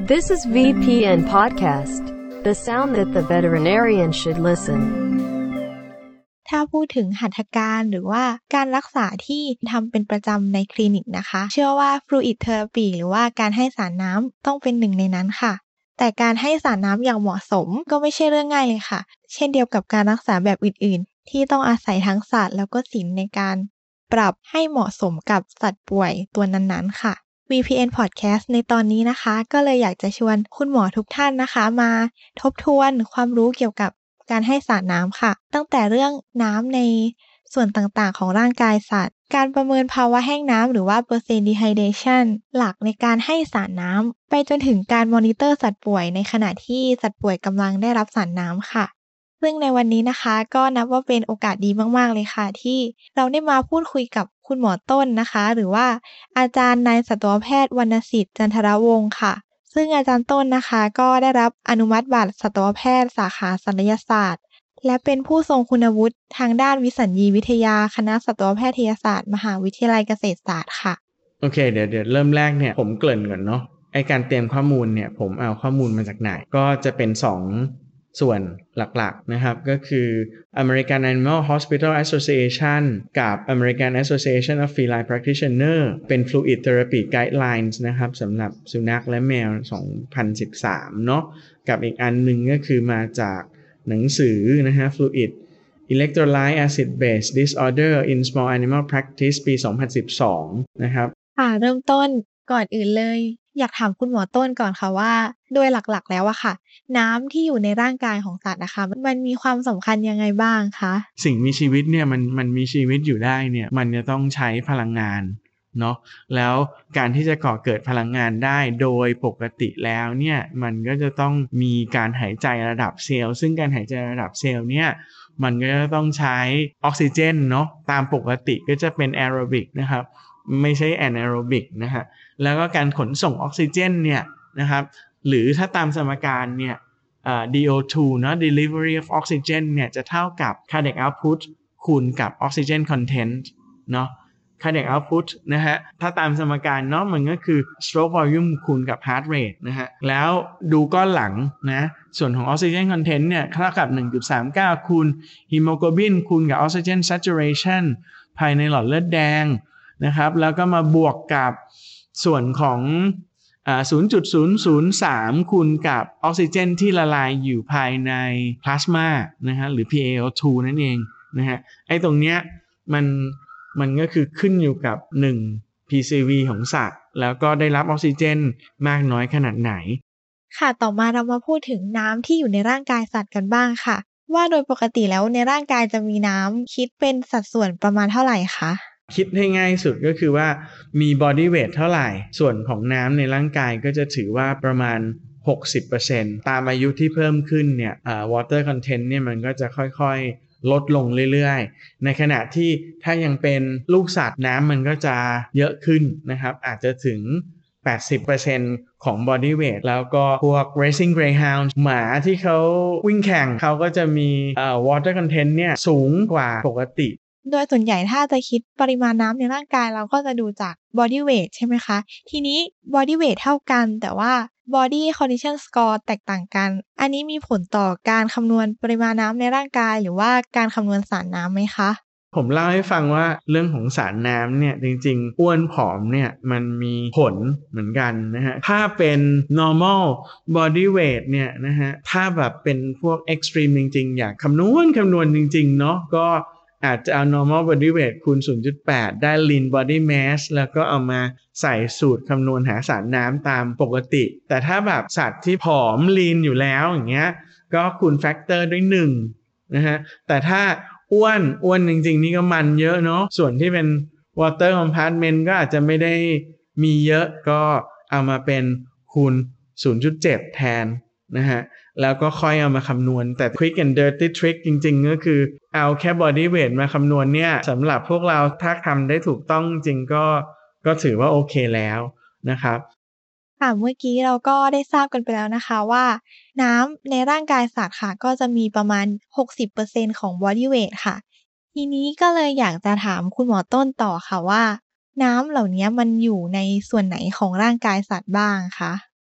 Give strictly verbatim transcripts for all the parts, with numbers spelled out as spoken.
This is วี พี เอ็น Podcast, the sound that the veterinarian should listen. ถ้าพูดถึงหัตถการหรือว่าการรักษาที่ทำเป็นประจำในคลินิกนะคะเชื่อว่า Fluid Therapy หรือว่าการให้สารน้ำต้องเป็นหนึ่งในนั้นค่ะแต่การให้สารน้ำอย่างเหมาะสมก็ไม่ใช่เรื่องง่ายเลยค่ะเช่นเดียวกับการรักษาแบบอื่นๆที่ต้องอาศัยทั้งศาสตร์แล้วก็ศิลป์ในการปรับให้เหมาะสมกับสัตว์ป่วยตัวนั้นๆค่ะ วี พี เอ็น Podcast ในตอนนี้นะคะก็เลยอยากจะชวนคุณหมอทุกท่านนะคะมาทบทวนความรู้เกี่ยวกับการให้สารน้ำค่ะตั้งแต่เรื่องน้ำในส่วนต่างๆของร่างกายสัตว์การประเมินภาวะแห้งน้ำหรือว่า percent dehydration หลักในการให้สารน้ำไปจนถึงการมอนิเตอร์สัตว์ป่วยในขณะที่สัตว์ป่วยกำลังได้รับสารน้ำค่ะซึ่งในวันนี้นะคะก็นับว่าเป็นโอกาสดีมากๆเลยค่ะที่เราได้มาพูดคุยกับคุณหมอต้นนะคะหรือว่าอาจารย์นายสัตวแพทย์วรรณสิทธิ์จันทรวงศ์ค่ะซึ่งอาจารย์ต้นนะคะก็ได้รับอนุมัติบัตรสัตวแพทย์สาขาศัลยศาสตร์และเป็นผู้ทรงคุณวุฒิทางด้านวิสัญญีวิทยาคณะสัตวแพทยศาสตร์มหาวิทยาลัยเกษตรศาสตร์ค่ะโอเคเดี๋ยวเดี๋ยวเริ่มแรกเนี่ยผมเกริ่นก่อนเนาะไอการเตรียมข้อมูลเนี่ยผมเอาข้อมูลมาจากไหนก็จะเป็นสองส่วนหลักๆนะครับก็คือ American Animal Hospital Association กับ American Association of Feline Practitioner เป็น Fluid Therapy Guidelines นะครับสำหรับสุนัขและแมวสองพันสิบสามเนาะกับอีกอันหนึ่งก็คือมาจากหนังสือนะฮะ Fluid Electrolyte Acid Base Disorder in Small Animal Practice ปีสองพันสิบสองนะครับค่ะเริ่มต้นก่อนอื่นเลยอยากถามคุณหมอต้นก่อนค่ะว่าโดยหลักๆแล้วอะค่ะน้ำที่อยู่ในร่างกายของสัตว์นะคะมันมีความสำคัญยังไงบ้างคะสิ่งมีชีวิตเนี่ยมันมันมีชีวิตอยู่ได้เนี่ยมันจะต้องใช้พลังงานเนาะแล้วการที่จะก่อเกิดพลังงานได้โดยปกติแล้วเนี่ยมันก็จะต้องมีการหายใจระดับเซลล์ซึ่งการหายใจระดับเซลล์เนี่ยมันก็จะต้องใช้ออกซิเจนเนาะตามปกติก็จะเป็นแอโรบิกนะครับไม่ใช่แอนแอโรบิกนะฮะแล้วก็การขนส่งออกซิเจนเนี่ยนะครับหรือถ้าตามสมการเนี่ยอ่า ดี โอ ทู เนาะ delivery of oxygen เนี่ยจะเท่ากับ cardiac output คูณกับ oxygen content เนาะ cardiac output นะฮะถ้าตามสมการเนาะมันก็คือ stroke volume คูณกับ heart rate นะฮะแล้วดูก้อนหลังนะส่วนของ oxygen content เนี่ยเท่ากับ หนึ่งจุดสามเก้า คูณ hemoglobin คูณกับ oxygen saturation ภายในหลอดเลือดแดงนะครับแล้วก็มาบวกกับส่วนของอ่า ศูนย์จุดศูนย์ศูนย์สาม คูณกับออกซิเจนที่ละลายอยู่ภายในพลาสมานะฮะหรือ พี เอ โอ ทู นั่นเองนะฮะไอ้ตรงเนี้ยมันมันก็คือขึ้นอยู่กับหนึ่ง พี ซี วี ของสัตว์แล้วก็ได้รับออกซิเจนมากน้อยขนาดไหนค่ะต่อมาเรามาพูดถึงน้ำที่อยู่ในร่างกายสัตว์กันบ้างค่ะว่าโดยปกติแล้วในร่างกายจะมีน้ำคิดเป็นสัดส่วนประมาณเท่าไหร่คะคิดให้ง่ายสุดก็คือว่ามี body weight เท่าไหร่ส่วนของน้ำในร่างกายก็จะถือว่าประมาณ หกสิบเปอร์เซ็นต์ ตามอายุที่เพิ่มขึ้นเนี่ยอ่า water content เนี่ยมันก็จะค่อยๆลดลงเรื่อยๆในขณะที่ถ้ายังเป็นลูกสัตว์น้ำมันก็จะเยอะขึ้นนะครับอาจจะถึง แปดสิบเปอร์เซ็นต์ ของ body weight แล้วก็พวก racing greyhound หมาที่เขาวิ่งแข่งเขาก็จะมีอ่า water content เนี่ยสูงกว่าปกติโดยส่วนใหญ่ถ้าจะคิดปริมาณน้ำในร่างกายเราก็จะดูจาก body weight ใช่ไหมคะทีนี้ body weight เท่ากันแต่ว่า body condition score แตกต่างกันอันนี้มีผลต่อการคำนวณปริมาณน้ำในร่างกายหรือว่าการคำนวณสารน้ำไหมคะผมเล่าให้ฟังว่าเรื่องของสารน้ำเนี่ยจริงๆอ้วนผอมเนี่ยมันมีผลเหมือนกันนะฮะถ้าเป็น normal body weight เนี่ยนะฮะถ้าแบบเป็นพวก extreme จริงๆอยากคำนวณคำนวณจริงๆเนาะก็อาจจะเอา normal body weight คูณ ศูนย์จุดแปด ได้ lean body mass แล้วก็เอามาใส่สูตรคำนวณหาสารน้ำตามปกติแต่ถ้าแบบสัตว์ที่ผอม lean อยู่แล้วอย่างเงี้ยก็คูณ factor ด้วยหนึ่งนะฮะแต่ถ้าอ้วนอ้วนจริงๆนี่ก็มันเยอะเนาะส่วนที่เป็น water compartment ก็อาจจะไม่ได้มีเยอะก็เอามาเป็นคูณ ศูนย์จุดเจ็ด แทนนะฮะแล้วก็ค่อยเอามาคำนวณแต่ quick and dirty trick จริงๆก็คือเอาแค่ body weight มาคำนวณเนี่ยสำหรับพวกเราถ้าทำได้ถูกต้องจริงก็ก็ถือว่าโอเคแล้วนะครับค่ะเมื่อกี้เราก็ได้ทราบกันไปแล้วนะคะว่าน้ำในร่างกายสัตว์ค่ะก็จะมีประมาณ หกสิบเปอร์เซ็นต์ ของ body weight ค่ะทีนี้ก็เลยอยากจะถามคุณหมอต้นต่อค่ะว่าน้ำเหล่านี้มันอยู่ในส่วนไหนของร่างกายสัตว์บ้างคะ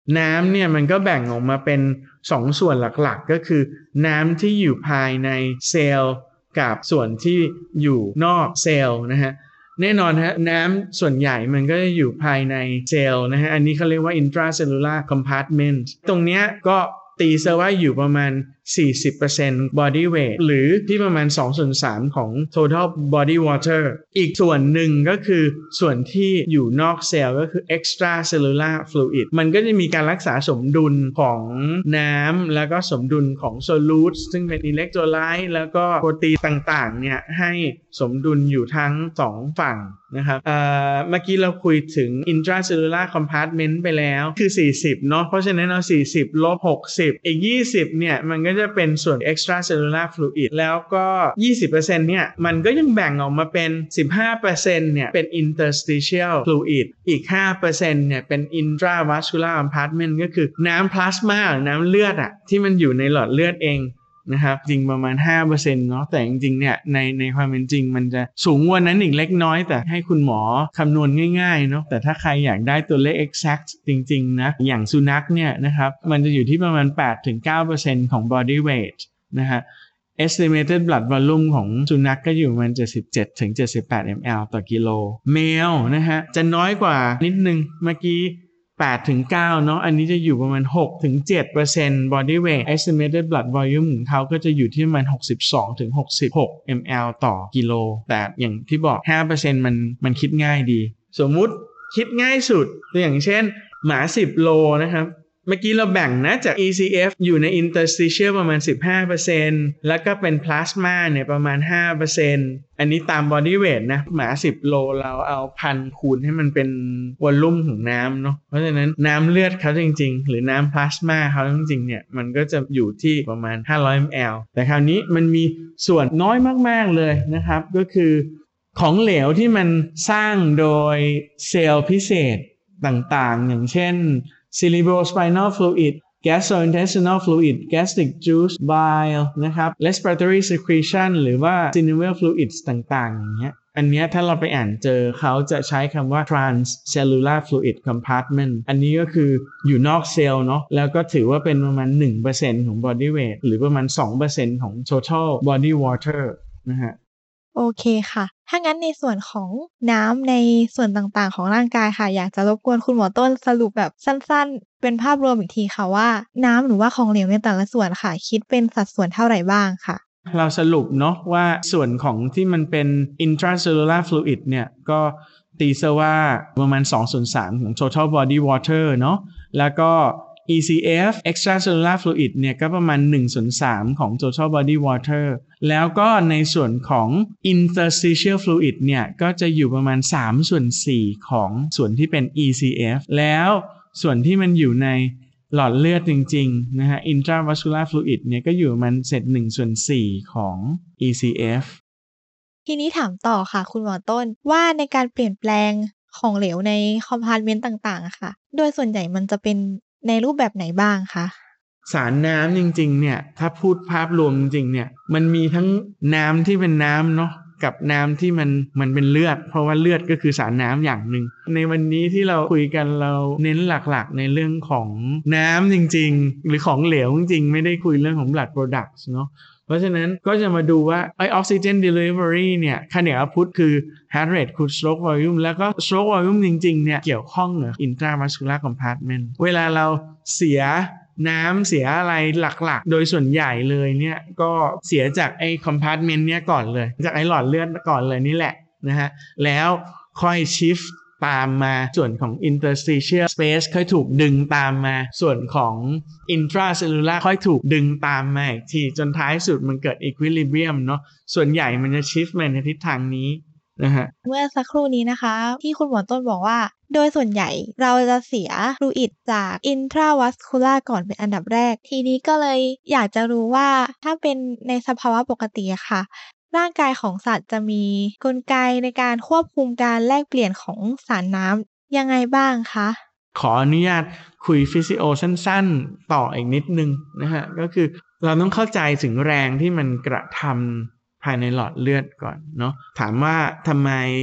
น้ำเนี่ยมันก็แบ่งออกมาเป็นสองส่วนหลักๆก็คือน้ำที่อยู่ภายในเซลล์กับส่วนที่อยู่นอกเซลล์นะฮะแน่นอนฮะน้ำส่วนใหญ่มันก็จะอยู่ภายในเซลล์นะฮะอันนี้เขาเรียกว่า intracellular compartment ตรงเนี้ยก็ตีซะว่าอยู่ประมาณ สี่สิบเปอร์เซ็นต์ body weight หรือที่ประมาณ สองส่วนสาม ของ total body water อีกส่วนหนึ่งก็คือส่วนที่อยู่นอกเซลล์ก็คือ extracellular fluid มันก็จะมีการรักษาสมดุลของน้ำแล้วก็สมดุลของ solutes ซึ่งเป็น electrolyte แล้วก็โปรตีนต่างๆเนี่ยให้สมดุลอยู่ทั้งสองฝั่งนะครับเอ่อเมื่อกี้เราคุยถึง intracellular compartment ไปแล้วคือสี่สิบเนาะเพราะฉะนั้นเอาสี่สิบลบหกสิบอีกยี่สิบเนี่ยมันก็จะเป็นส่วน extracellular fluid แล้วก็ ยี่สิบเปอร์เซ็นต์ เนี่ยมันก็ยังแบ่งออกมาเป็น สิบห้าเปอร์เซ็นต์ เนี่ยเป็น interstitial fluid อีก ห้าเปอร์เซ็นต์ เนี่ยเป็น intravascular compartment ก็คือน้ำพลาสมาหรือน้ำเลือดอะที่มันอยู่ในหลอดเลือดเองนะครับจริงประมาณ ห้าเปอร์เซ็นต์ เนาะแต่จริงๆเนี่ยในในความเป็นจริงมันจะสูงกว่านั้นอีกเล็กน้อยแต่ให้คุณหมอคำนวณง่ายๆเนาะแต่ถ้าใครอยากได้ตัวเลข exact จริงๆนะอย่างสุนัขเนี่ยนะครับมันจะอยู่ที่ประมาณ แปดถึงเก้าเปอร์เซ็นต์ ของ body weight นะฮะ estimated blood volume ของสุนัข ก, ก็อยู่ประมาณ เจ็ดสิบเจ็ดถึงเจ็ดสิบแปด มิลลิลิตร ต่อกิโลแมวนะฮะจะน้อยกว่านิดนึงเมื่อกี้แปดถึงเก้าเนาะอันนี้จะอยู่ประมาณ หกถึงเจ็ดเปอร์เซ็นต์ body weight estimated blood volume ของเขาก็จะอยู่ที่ประมาณ หกสิบสองถึงหกสิบหก มิลลิลิตร ต่อกิโลแต่อย่างที่บอก ห้าเปอร์เซ็นต์ มันมันคิดง่ายดีสมมุติคิดง่ายสุดตัวอย่างเช่นหมาสิบโลนะครับเมื่อกี้เราแบ่งนะจาก อี ซี เอฟ อยู่ใน interstitial ประมาณ สิบห้าเปอร์เซ็นต์ แล้วก็เป็น plasma เนี่ยประมาณ ห้าเปอร์เซ็นต์ อันนี้ตาม body weight นะหมาสิบโลเราเอาพันคูณให้มันเป็นวอลลุ่มของน้ำเนาะเพราะฉะนั้นน้ำเลือดเขาจริงๆหรือน้ำ plasma เขาจริงๆเนี่ยมันก็จะอยู่ที่ประมาณห้าร้อย มิลลิลิตร แต่คราวนี้มันมีส่วนน้อยมากๆเลยนะครับก็คือของเหลวที่มันสร้างโดยเซลล์พิเศษต่างๆอย่างเช่นcerebrospinal fluid gastrointestinal fluid gastric juice bile นะครับ respiratory secretion หรือว่า synovial fluids ต่างๆอย่างเงี้ยอันเนี้ยถ้าเราไปอ่านเจอเขาจะใช้คำว่า transcellular fluid compartment อันนี้ก็คืออยู่นอกเซลล์เนาะแล้วก็ถือว่าเป็นประมาณ หนึ่งเปอร์เซ็นต์ ของ body weight หรือประมาณ สองเปอร์เซ็นต์ ของ total body water นะฮะโอเคค่ะถ้างั้นในส่วนของน้ำในส่วนต่างๆของร่างกายค่ะอยากจะรบกวนคุณหมอต้นสรุปแบบสั้นๆเป็นภาพรวมอีกทีค่ะว่าน้ำหรือว่าของเหลวในแต่ละส่วนค่ะคิดเป็นสัดส่วนเท่าไหร่บ้างค่ะเราสรุปเนาะว่าส่วนของที่มันเป็น intracellular fluid เนี่ยก็ตีซะว่าประมาณ สองส่วนสาม ของ total body water เนาะแล้วก็อี ซี เอฟ extracellular fluid เนี่ยก็ประมาณ หนึ่งส่วนสาม ของ total body water แล้วก็ในส่วนของ interstitial fluid เนี่ยก็จะอยู่ประมาณ สามส่วนสี่ ของส่วนที่เป็น อี ซี เอฟ แล้วส่วนที่มันอยู่ในหลอดเลือดจริงๆนะฮะ intravascular fluid เนี่ยก็อยู่ประมาณเศษ หนึ่งส่วนสี่ ของ อี ซี เอฟทีนี้ถามต่อค่ะคุณหมอต้นว่าในการเปลี่ยนแปลงของเหลวในคอมพาร์ตเมนต์ต่างๆอะค่ะโดยส่วนใหญ่มันจะเป็นในรูปแบบไหนบ้างคะสารน้ำจริงๆเนี่ยถ้าพูดภาพรวมจริงๆเนี่ยมันมีทั้งน้ำที่เป็นน้ำเนาะกับน้ำที่มันมันเป็นเลือดเพราะว่าเลือดก็คือสารน้ำอย่างหนึ่งในวันนี้ที่เราคุยกันเราเน้นหลักๆในเรื่องของน้ำจริงๆหรือของเหลวจริงๆไม่ได้คุยเรื่องของ blood products เนาะเพราะฉะนั้นก็จะมาดูว่าไอ oxygen delivery เนี่ยค่าเหนือพุทคือ heart rate คูณ stroke volume แล้วก็ stroke volume จริงๆเนี่ยเกี่ยวข้องกับ intravascular compartment เวลาเราเสียน้ำเสียอะไรหลักๆโดยส่วนใหญ่เลยเนี่ยก็เสียจากไอ้ compartment เนี่ยก่อนเลยจากไอ้หลอดเลือดก่อนเลยนี่แหละนะฮะแล้วค่อย shift ตามมาส่วนของ interstitial space ค่อยถูกดึงตามมาส่วนของ intracellular ค่อยถูกดึงตามมาอีกทีจนท้ายสุดมันเกิด equilibrium เนาะส่วนใหญ่มันจะ shift มาในทิศทางนี้นะฮะเมื่อสักครู่นี้นะคะที่คุณหมอต้นบอกว่าโดยส่วนใหญ่เราจะเสียฟลูอิดจาก intravascular ก่อนเป็นอันดับแรกทีนี้ก็เลยอยากจะรู้ว่าถ้าเป็นในสภาวะปกติอะค่ะร่างกายของสัตว์จะมีกลไกในการควบคุมการแลกเปลี่ยนของสารน้ำยังไงบ้างคะขออนุญาตคุยฟิสิโอสั้นๆต่ออีกนิดนึงนะฮะก็คือเราต้องเข้าใจถึงแรงที่มันกระทำภายในหลอดเลือดก่อนเนาะถามว่าทำไม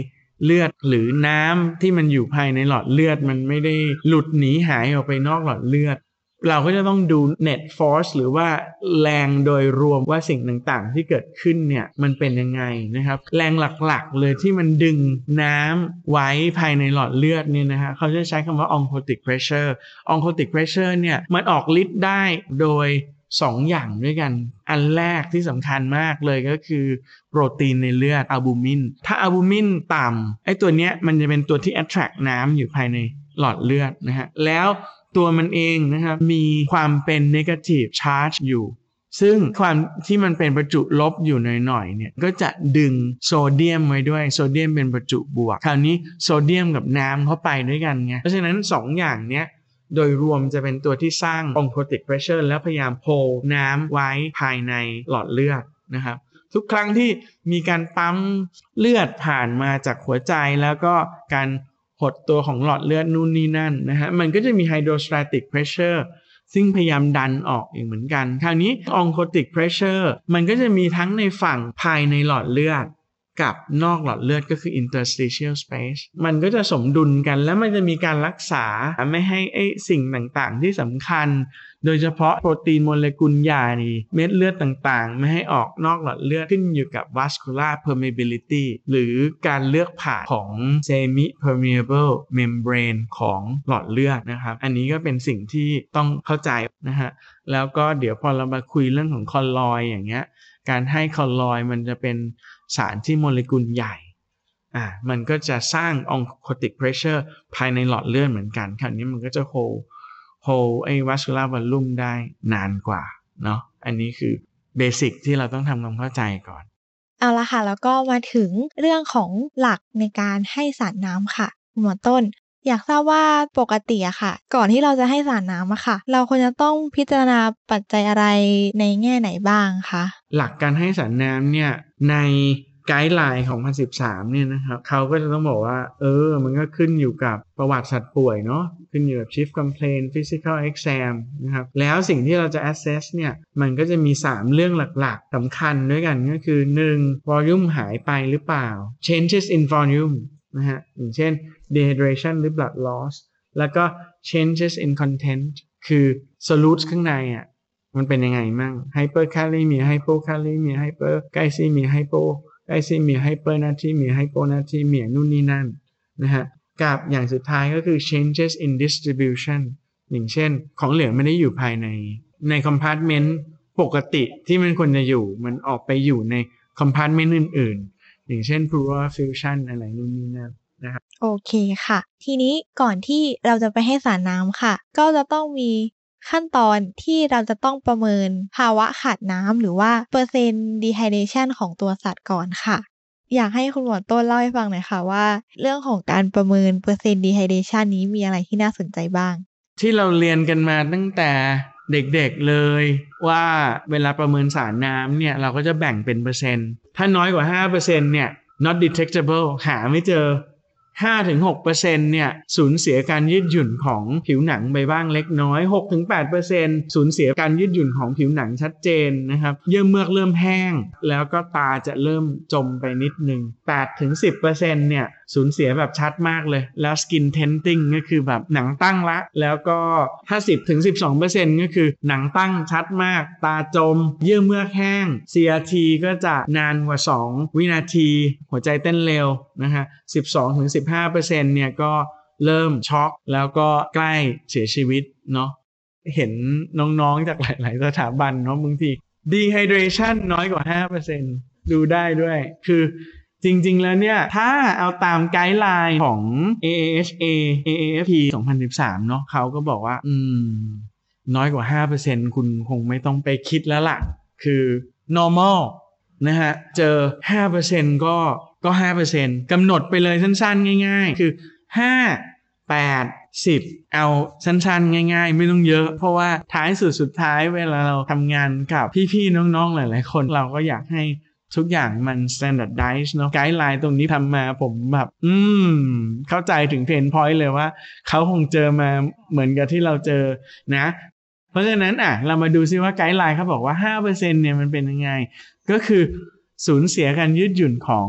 เลือดหรือน้ำที่มันอยู่ภายในหลอดเลือดมันไม่ได้หลุดหนีหายออกไปนอกหลอดเลือดเราก็จะต้องดู net force หรือว่าแรงโดยรวมว่าสิ่งต่างๆที่เกิดขึ้นเนี่ยมันเป็นยังไงนะครับแรงหลักๆเลยที่มันดึงน้ำไว้ภายในหลอดเลือดเนี่ยนะฮะเขาจะใช้คำว่า oncotic pressure oncotic pressure เนี่ยมันออกฤทธิ์ได้โดยสองอย่างด้วยกันอันแรกที่สำคัญมากเลยก็คือโปรตีนในเลือดอัลบูมินถ้าอัลบูมินต่ำไอ้ตัวเนี้ยมันจะเป็นตัวที่ attract น้ำอยู่ภายในหลอดเลือดนะฮะแล้วตัวมันเองนะครับมีความเป็น negative charge อยู่ซึ่งความที่มันเป็นประจุลบอยู่หน่อยๆเนี่ยก็จะดึงโซเดียมไว้ด้วยโซเดียมเป็นประจุบวกคราวนี้โซเดียมกับน้ำเข้าไปด้วยกันไงเพราะฉะนั้นสองอย่างเนี้ยโดยรวมจะเป็นตัวที่สร้าง oncotic pressure แล้วพยายามโฮลน้ำไว้ภายในหลอดเลือดนะครับทุกครั้งที่มีการปั๊มเลือดผ่านมาจากหัวใจแล้วก็การหดตัวของหลอดเลือดนู่นนี่นั่นนะฮะมันก็จะมี hydrostatic pressure ซึ่งพยายามดันออกอีกเหมือนกันคราวนี้ oncotic pressure มันก็จะมีทั้งในฝั่งภายในหลอดเลือดกับนอกหลอดเลือดก็คือ interstitial space มันก็จะสมดุลกันแล้วมันจะมีการรักษาไม่ให้ไอ้สิ่งต่างๆที่สำคัญโดยเฉพาะโปรตีนโมเลกุลใหญ่เม็ดเลือดต่างๆไม่ให้ออกนอกหลอดเลือดขึ้นอยู่กับ vascular permeability หรือการเลือกผ่านของ semi permeable membrane ของหลอดเลือดนะครับอันนี้ก็เป็นสิ่งที่ต้องเข้าใจนะฮะแล้วก็เดี๋ยวพอเรามาคุยเรื่องของคอลลอยด์อย่างเงี้ยการให้คอลลอยด์มันจะเป็นสารที่โมเลกุลใหญ่อ่ามันก็จะสร้าง oncotic pressure ภายในหลอดเลือดเหมือนกันคราวนี้มันก็จะ hold hold ไอ้ vascular volume ได้นานกว่าเนาะอันนี้คือเบสิกที่เราต้องทำความเข้าใจก่อนเอาละค่ะแล้วก็มาถึงเรื่องของหลักในการให้สารน้ำค่ะหมวดต้นอยากทราบว่าปกติอะค่ะก่อนที่เราจะให้สารน้ำอะค่ะเราควรจะต้องพิจารณาปัจจัยอะไรในแง่ไหนบ้างคะหลักการให้สารน้ำเนี่ยในไกด์ไลน์ของสองพันสิบสามเนี่ยนะครับเขาก็จะต้องบอกว่าเออมันก็ขึ้นอยู่กับประวัติสัตว์ป่วยเนาะขึ้นอยู่กับ chief complaint physical exam นะครับแล้วสิ่งที่เราจะ assess เนี่ยมันก็จะมีสามเรื่องหลักๆสำคัญด้วยกันก็คือหนึ่ง volume หายไปหรือเปล่า changes in volume นะฮะอย่างเช่น dehydration หรือ blood loss แล้วก็ changes in content คือ solutes ข้างในอ่ะมันเป็นยังไงมั่ง hyperkalemia hypokalemia hyperglycemia hypoไกซีเมียไฮเปอร์นาทรีเมียไฮโปนาทรีเมียนู่นนี่นั่นนะฮะกับอย่างสุดท้ายก็คือ changes in distribution อย่างเช่นของเหลวไม่ได้อยู่ภายในในคอมพาร์ตเมนต์ปกติที่มันควรจะอยู่มันออกไปอยู่ในคอมพาร์ตเมนต์อื่นๆอย่างเช่น pleural effusion อะไรนู่นนี่นั่นนะครับโอเคค่ะทีนี้ก่อนที่เราจะไปให้สารน้ำค่ะก็จะต้องมีขั้นตอนที่เราจะต้องประเมินภาวะขาดน้ำหรือว่าเปอร์เซ็นต์ dehydration ของตัวสัตว์ก่อนค่ะอยากให้คุณหมอต้นเล่าให้ฟังหน่อยค่ะว่าเรื่องของการประเมินเปอร์เซ็นต์ dehydration นี้มีอะไรที่น่าสนใจบ้างที่เราเรียนกันมาตั้งแต่เด็กๆเลยว่าเวลาประเมินสารน้ำเนี่ยเราก็จะแบ่งเป็นเปอร์เซ็นต์ถ้าน้อยกว่า ห้าเปอร์เซ็นต์ เนี่ย not detectable หาไม่เจอห้าถึงหกเปอร์เซ็นต์ เนี่ยสูญเสียการยืดหยุ่นของผิวหนังไปบ้างเล็กน้อย หกถึงแปดเปอร์เซ็นต์ สูญเสียการยืดหยุ่นของผิวหนังชัดเจนนะครับเยื่อเมือกเริ่มแห้งแล้วก็ตาจะเริ่มจมไปนิดนึง แปดถึงสิบเปอร์เซ็นต์ เนี่ยสูญเสียแบบชัดมากเลยแล้ว skin tenting ก็คือแบบหนังตั้งละแล้วก็ถ้า สิบถึงสิบสองเปอร์เซ็นต์ ก็คือหนังตั้งชัดมากตาจมเยื่อเมือกแห้ง ซี อาร์ ที ก็จะนานกว่าสองวินาทีหัวใจเต้นเร็วนะฮะ สิบสองถึงสิบห้าเปอร์เซ็นต์ เนี่ยก็เริ่มช็อกแล้วก็ใกล้เสียชีวิตเนาะเห็นน้องๆจากหลายๆสถาบันเนาะบางที dehydration น้อยกว่า ห้าเปอร์เซ็นต์ ดูได้ด้วยคือจริงๆแล้วเนี่ยถ้าเอาตามไกด์ไลน์ของ เอ เอ เอช เอ เอ เอ เอฟ พี สองพันสิบสามเนาะเขาก็บอกว่าอืมน้อยกว่า ห้าเปอร์เซ็นต์ คุณคงไม่ต้องไปคิดแล้วล่ะคือ normal นะฮะเจอ ห้าเปอร์เซ็นต์ ก็ก็ ห้าเปอร์เซ็นต์ กำหนดไปเลยสั้นๆง่ายๆคือห้า แปด สิบเอาสั้นๆง่ายๆไม่ต้องเยอะเพราะว่าท้ายสุดสุดท้ายเวลาเราทำงานกับพี่ๆน้องๆหลายๆคนเราก็อยากให้ทุกอย่างมัน standardize เนาะไกด์ไลน์ตรงนี้ทำมาผมแบบอืมเข้าใจถึงเพนพอยต์เลยว่าเขาคงเจอมาเหมือนกับที่เราเจอนะเพราะฉะนั้นอ่ะเรามาดูซิว่าไกด์ไลน์เขาบอกว่า ห้าเปอร์เซ็นต์ เนี่ยมันเป็นยังไงก็คือสูญเสียการยืดหยุ่นของ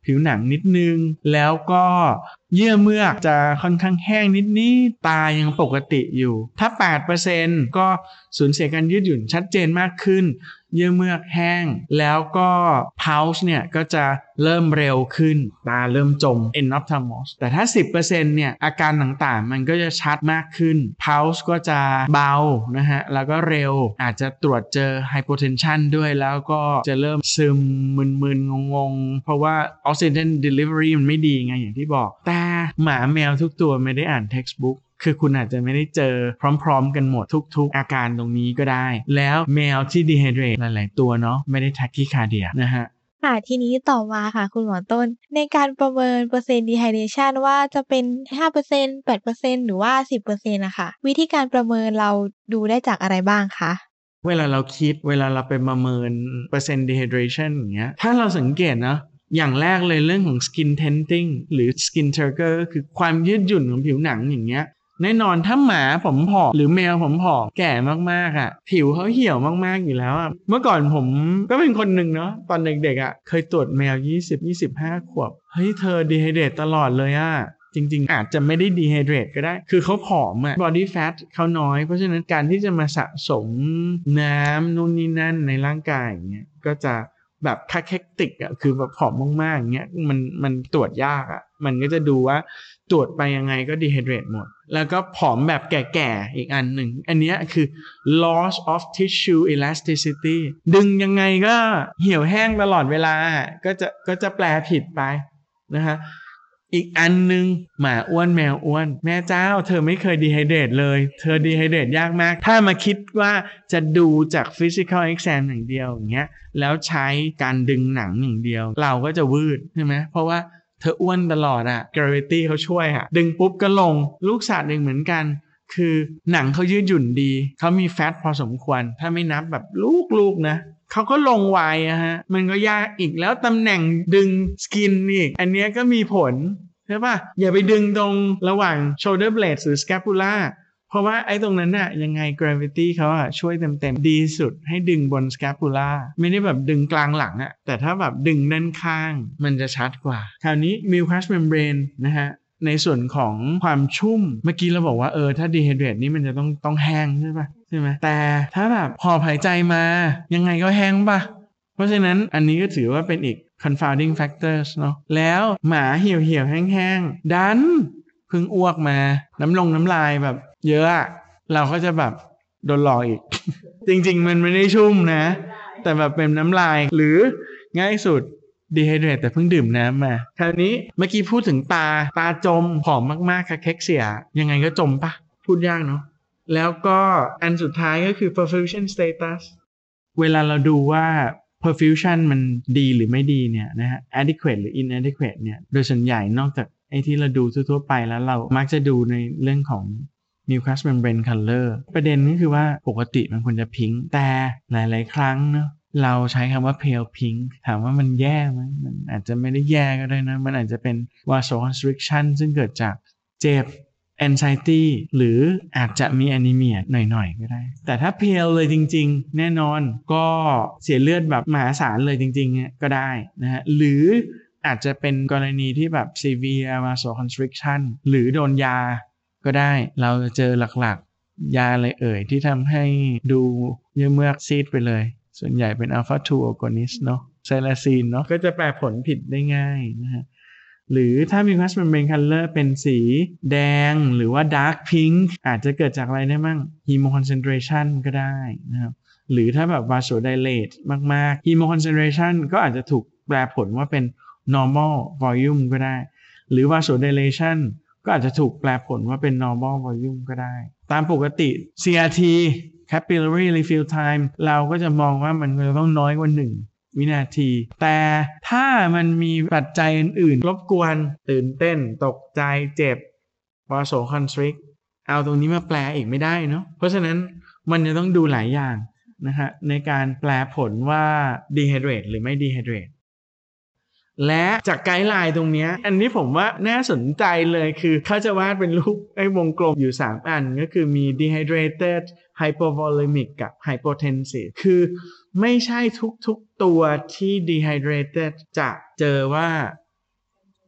ผิวหนังนิดนึงแล้วก็เยื่อเมือกจะค่อนข้างแห้งนิดๆตายังปกติอยู่ถ้า แปดเปอร์เซ็นต์ ก็สูญเสียการยืดหยุ่นชัดเจนมากขึ้นเยื่อเมือกแห้งแล้วก็ pulse เนี่ยก็จะเริ่มเร็วขึ้นตาเริ่มจม enophthalmos แต่ถ้า สิบเปอร์เซ็นต์ เนี่ยอาการต่างๆมันก็จะชัดมากขึ้น pulse ก็จะเบานะฮะแล้วก็เร็วอาจจะตรวจเจอ hypotension ด้วยแล้วก็จะเริ่มซึมมึนๆงงๆเพราะว่า oxygen delivery มันไม่ดีไงอย่างที่บอกแต่หมาแมวทุกตัวไม่ได้อ่าน textbookคือคุณอาจจะไม่ได้เจอพร้อมๆกันหมดทุกๆอาการตรงนี้ก็ได้แล้วแมวที่ dehydrate หลายๆตัวเนาะไม่ได้ tachycardia นะฮะค่ะทีนี้ต่อมาค่ะคุณหมอต้นในการประเมินเปอร์เซ็นต์ dehydration ว่าจะเป็น ห้าเปอร์เซ็นต์ แปดเปอร์เซ็นต์ หรือว่า สิบเปอร์เซ็นต์ น่ะค่ะวิธีการประเมินเราดูได้จากอะไรบ้างคะเวลาเราคิดเวลาเราไปประเมินเปอร์เซ็นต์ dehydration อย่างเงี้ยถ้าเราสังเกตนะอย่างแรกเลยเรื่องของ skin tenting หรือ skin turgor ก็คือความยืดหยุ่นของผิวหนังอย่างเงี้ยแน่นอนถ้าหมาผมผอมหรือแมวผมผอมแก่มากๆอ่ะผิวเขาเหี่ยวมากๆอยู่แล้วอ่ะเมื่อก่อนผมก็เป็นคนหนึ่งเนาะตอนเด็กๆอ่ะเคยตรวจแมวยี่สิบ ยี่สิบห้าขวบเฮ้ยเธอ dehydrate ตลอดเลยอ่ะจริงๆอาจจะไม่ได้ dehydrate ก็ได้คือเขาผอมอ่ะ body fat เขาน้อยเพราะฉะนั้นการที่จะมาสะสมน้ำนู่นนี่นั่นในร่างกายอย่างเงี้ยก็จะแบบคาเคติกอ่ะคือแบบผอมมากๆอย่างเงี้ยมันมันตรวจยากอ่ะมันก็จะดูว่าตรวจไปยังไงก็ dehydrate หมดแล้วก็ผอมแบบแก่ๆอีกอันหนึ่งอันนี้คือ loss of tissue elasticity ดึงยังไงก็เหี่ยวแห้งตลอดเวลาก็จะก็จะแปลผิดไปนะฮะอีกอันนึงหมาอ้วนแมวอ้วนแม่เจ้าเธอไม่เคย dehydrate เลยเธอ dehydrate ยากมากถ้ามาคิดว่าจะดูจาก physical exam อย่างเดียวอย่างเงี้ยแล้วใช้การดึงหนังอย่างเดียวเราก็จะวืดใช่ไหมเพราะว่าเธออ้วนตลอดอะ gravity เขาช่วยอะดึงปุ๊บก็ลงลูกสัตว์เองเหมือนกันคือหนังเขายืดหยุ่นดีเขามีแฟตพอสมควรถ้าไม่นับแบบลูกๆนะเขาก็ลงไวอะฮะมันก็ยากอีกแล้วตำแหน่งดึงสกินอีกอันนี้ก็มีผลใช่ป่ะอย่าไปดึงตรงระหว่าง shoulder blade หรือ scapula เพราะว่าไอ้ตรงนั้นน่ะยังไง gravity เขาอะช่วยเต็มๆดีสุดให้ดึงบน scapula ไม่ได้แบบดึงกลางหลังอะแต่ถ้าแบบดึงด้านข้างมันจะชัดกว่าคราวนี้ mucous membrane นะฮะในส่วนของความชุ่มเมื่อกี้เราบอกว่าเออถ้า dehydrate นี่มันจะต้องต้องแห้งใช่ป่ะใช่ไหมแต่ถ้าแบบหอบหายใจมายังไงก็แห้งป่ะเพราะฉะนั้นอันนี้ก็ถือว่าเป็นอีก confounding factors เนาะแล้วหมาเหี่ยวเหี่ยวแห้งๆดันเพิ่งอ้วกมาน้ำลงน้ำลายแบบเยอะอะเราก็จะแบบโดนหลอกอีก จริงๆมันไม่ได้ชุ่มนะแต่แบบเป็นน้ำลายหรือง่ายสุด dehydrate แต่เพิ่งดื่มน้ำมาคราวนี้เมื่อกี้พูดถึงตาตาจมผอมมากๆค่ะเค็กเสียยังไงก็จมปะพูดยากเนาะแล้วก็อันสุดท้ายก็คือ perfusion status เวลาเราดูว่า perfusion มันดีหรือไม่ดีเนี่ยนะฮะ adequate หรือ inadequate เนี่ยโดยส่วนใหญ่นอกจากไอ้ที่เราดูทั่วๆไปแล้วเรามักจะดูในเรื่องของ mucous membrane color ประเด็นก็คือว่าปกติมันควรจะพิงค์แต่หลายๆครั้งเนาะเราใช้คำว่า pale pink ถามว่ามันแย่ไหมมันอาจจะไม่ได้แย่ก็ได้นะมันอาจจะเป็น vasoconstriction ซึ่งเกิดจากเจ็บ anxiety หรืออาจจะมี anemia หน่อยๆก็ได้แต่ถ้า pale เลยจริงๆแน่นอนก็เสียเลือดแบบมหาศาลเลยจริงๆก็ได้นะฮะหรืออาจจะเป็นกรณีที่แบบ severe vasoconstriction หรือโดนยาก็ได้เราจะเจอหลักๆยาอะไรเอ่ยที่ทำให้ดูเยื่อเมือกซีดไปเลยส่วนใหญ่เป็น alpha ทู agonist เนาะไซลาซีนเนาะก็จะแปลผลผิดได้ง่ายนะฮะหรือถ้ามี mucous membrane color เป็นสีแดงหรือว่า dark pink อาจจะเกิดจากอะไรได้มั่ง hemoconcentration ก็ได้นะครับหรือถ้าแบบ vasodilate มากๆ hemoconcentration ก็อาจจะถูกแปลผลว่าเป็น normal volume ก็ได้หรือ vasodilation ก็อาจจะถูกแปลผลว่าเป็น normal volume ก็ได้ตามปกติ ซี อาร์ ที capillary refill time เราก็จะมองว่ามันจะต้องน้อยกว่าหนึ่งวินาทีแต่ถ้ามันมีปัจจัยอื่นๆรบกวนตื่นเต้นตกใจเจ็บ vasoconstrict เอาตรงนี้มาแปลอีกไม่ได้เนาะเพราะฉะนั้นมันจะต้องดูหลายอย่างนะฮะในการแปลผลว่า dehydrate หรือไม่ dehydrate และจากไกด์ไลน์ตรงนี้อันนี้ผมว่าน่าสนใจเลยคือเขาจะวาดเป็นรูปไอ้วงกลมอยู่สามอันก็คือมี dehydrated hypovolemic กับ hypotensive คือไม่ใช่ทุกๆตัวที่ dehydrated จะเจอว่า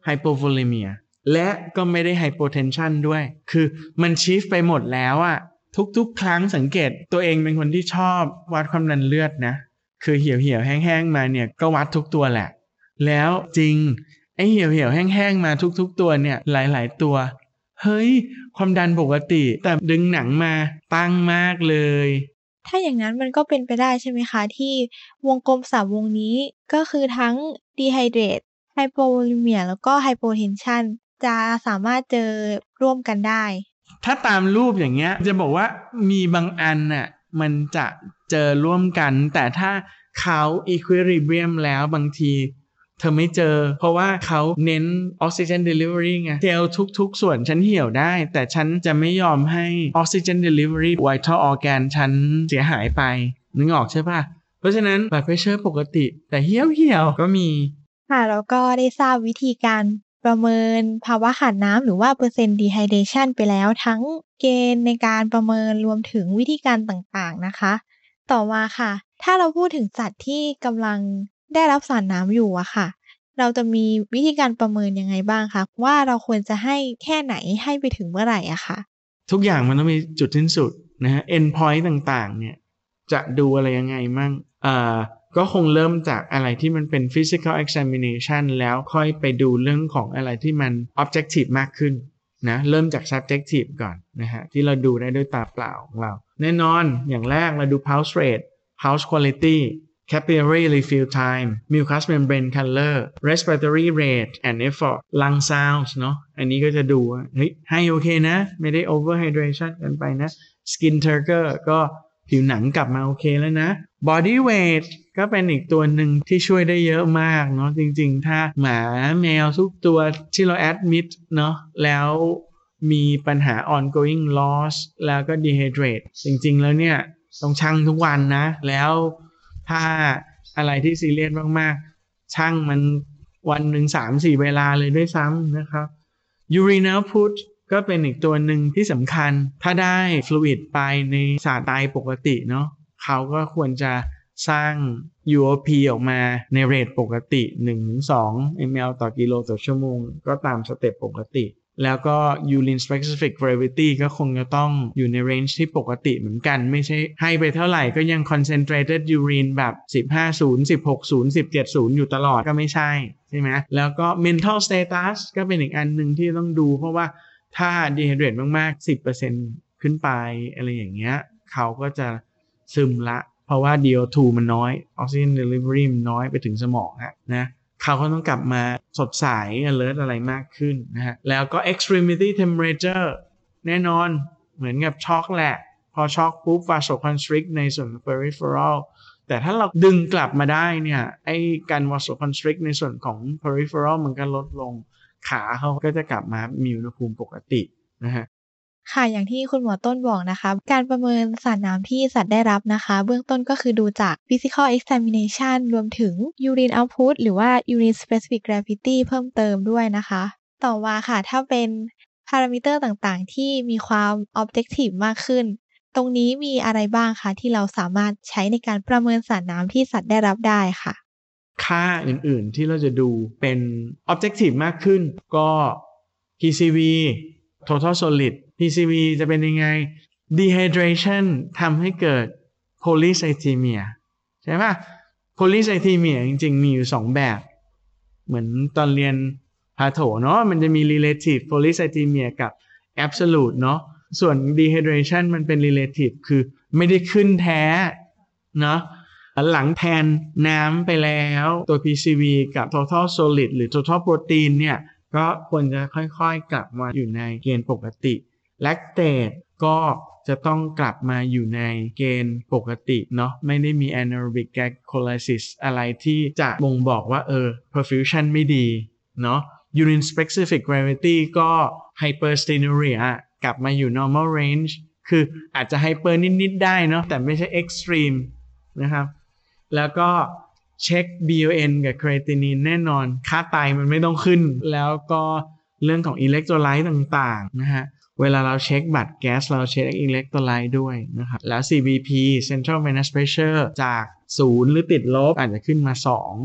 hypovolemia และก็ไม่ได้ hypotension ด้วยคือมันชีฟไปหมดแล้วอะทุกๆครั้งสังเกตตัวเองเป็นคนที่ชอบวัดความดันเลือดนะคือเหี่ยวเหี่ยวแห้งๆมาเนี่ยก็วัดทุกตัวแหละแล้วจริงไอ้เหี่ยวเหี่ยวแห้งๆมาทุกๆตัวเนี่ยหลายๆตัวเฮ้ยความดันปกติแต่ดึงหนังมาตั้งมากเลยถ้าอย่างนั้นมันก็เป็นไปได้ใช่ไหมคะที่วงกลมสามวงนี้ก็คือทั้ง dehydrate hypovolemia แล้วก็ hypotension จะสามารถเจอร่วมกันได้ถ้าตามรูปอย่างเงี้ยจะบอกว่ามีบางอันน่ะมันจะเจอร่วมกันแต่ถ้าเขา equilibrium แล้วบางทีเธอไม่เจอเพราะว่าเขาเน้น oxygen delivery ไงเซลล์ทุกๆส่วนฉันเหี่ยวได้แต่ฉันจะไม่ยอมให้ oxygen delivery vital organ ฉันเสียหายไปนึกออกใช่ป่ะเพราะฉะนั้น blood pressure ปกติแต่เหี่ยวเหี่ยวก็มีค่ะแล้วก็ได้ทราบวิธีการประเมินภาวะขาดน้ำหรือว่าเปอร์เซ็นต์ dehydration ไปแล้วทั้งเกณฑ์ในการประเมินรวมถึงวิธีการต่างๆนะคะต่อมาค่ะถ้าเราพูดถึงสัตว์ที่กำลังได้รับสารน้ำอยู่อะค่ะเราจะมีวิธีการประเมินยังไงบ้างคะว่าเราควรจะให้แค่ไหนให้ไปถึงเมื่อไหร่อะค่ะทุกอย่างมันต้องมีจุดสิ้นสุดนะฮะ end point ต่างๆเนี่ยจะดูอะไรยังไงมั่งอ่าก็คงเริ่มจากอะไรที่มันเป็น physical examination แล้วค่อยไปดูเรื่องของอะไรที่มัน objective มากขึ้นนะเริ่มจาก subjective ก่อนนะฮะที่เราดูได้ด้วยตาเปล่าของเราแน่นอนอย่างแรกเราดู pulse rate pulse quality capillary refill time mucous membrane color respiratory rate and effort lung sounds เนาะอันนี้ก็จะดูว่าเฮ้ยให้โอเคนะไม่ได้ overhydration กันไปนะ skin turgor ก็ผิวหนังกลับมาโอเคแล้วนะ body weight ก็เป็นอีกตัวหนึ่งที่ช่วยได้เยอะมากเนาะจริงๆถ้าหมาแมวทุกตัวที่เรา admit เนาะแล้วมีปัญหา ongoing loss แล้วก็ dehydrate จริงๆแล้วเนี่ยต้องชั่งทุกวันนะแล้วถ้าอะไรที่ซีเรียสมากๆชั่งมันวันหนึ่ง สามถึงสี่ เวลาเลยด้วยซ้ำนะครับ urine output ก็เป็นอีกตัวหนึ่งที่สำคัญถ้าได้ fluid ไปในสารไตปกติเนาะเขาก็ควรจะสร้าง ยู โอ พี ออกมาในเรทปกติ หนึ่งถึงสอง มิลลิลิตร ต่อกิโลต่อชั่วโมงก็ตามสเต็ปปกติแล้วก็ urine specific gravity ก็คงจะต้องอยู่ใน range ที่ปกติเหมือนกันไม่ใช่ให้ไปเท่าไหร่ก็ยัง concentrated urine แบบสิบห้า ศูนย์ สิบหก ศูนย์ สิบเจ็ด ศูนย์อยู่ตลอดก็ไม่ใช่ใช่ไหมแล้วก็ mental status ก็เป็นอีกอันหนึ่งที่ต้องดูเพราะว่าถ้า dehydrate มากๆ สิบเปอร์เซ็นต์ ขึ้นไปอะไรอย่างเงี้ยเขาก็จะซึมละเพราะว่า ดี โอ ทู มันน้อย oxygen delivery มันน้อยไปถึงสมองอะนะเขาก็ต้องกลับมาสดใส alert อะไรมากขึ้นนะฮะแล้วก็ extremity temperature แน่นอนเหมือนกับช็อกแหละพอช็อกปุ๊บ vasoconstrict ในส่วน peripheral แต่ถ้าเราดึงกลับมาได้เนี่ยไอ้การ vasoconstrict ในส่วนของ peripheral มันก็ลดลงขาเขาก็จะกลับมามีอุณหภูมิปกตินะฮะค่ะอย่างที่คุณหมอต้นบอกนะคะการประเมินสารน้ำที่สัตว์ได้รับนะคะเบื้องต้นก็คือดูจาก physical examination รวมถึง urine output หรือว่า urine specific gravity เพิ่มเติมด้วยนะคะต่อมาค่ะถ้าเป็นพารามิเตอร์ต่างๆที่มีความ objective มากขึ้นตรงนี้มีอะไรบ้างคะที่เราสามารถใช้ในการประเมินสารน้ำที่สัตว์ได้รับได้ค่ะค่าอื่นๆที่เราจะดูเป็น objective มากขึ้นก็ พี ซี วี total solid พี ซี วี จะเป็นยังไง dehydration ทำให้เกิด polycythemia ใช่ป่ะ polycythemia จริงๆมีอยู่สองแบบเหมือนตอนเรียนพาโถเนาะมันจะมี relative polycythemia กับ absolute เนาะส่วน dehydration มันเป็น relative คือไม่ได้ขึ้นแท้เนาะหลังแทนน้ำไปแล้วตัว พี ซี วี กับ total solid หรือ total protein เนี่ยก็ควรจะค่อยๆกลับมาอยู่ในเกณฑ์ปกติ lactate ก็จะต้องกลับมาอยู่ในเกณฑ์ปกติเนาะไม่ได้มี anaerobic glycolysis อะไรที่จะบ่งบอกว่าเออ perfusion ไม่ดีเนาะ urine specific gravity ก็ hyperstenuria กลับมาอยู่ normal range คืออาจจะ hyper นิดๆได้เนาะแต่ไม่ใช่ extreme นะครับแล้วก็เช็ค บี โอ เอ็น กับ creatinine แน่นอนค่าไตมันไม่ต้องขึ้นแล้วก็เรื่องของอิเล็กโทรไลต์ต่างๆนะฮะเวลาเราเช็คบัตรแก๊สเราเช็คอิเล็กโทรไลต์ด้วยนะครับแล้ว ซี บี พี Central Venous Pressure จากศูนย์หรือติดลบอาจจะขึ้นมาสอง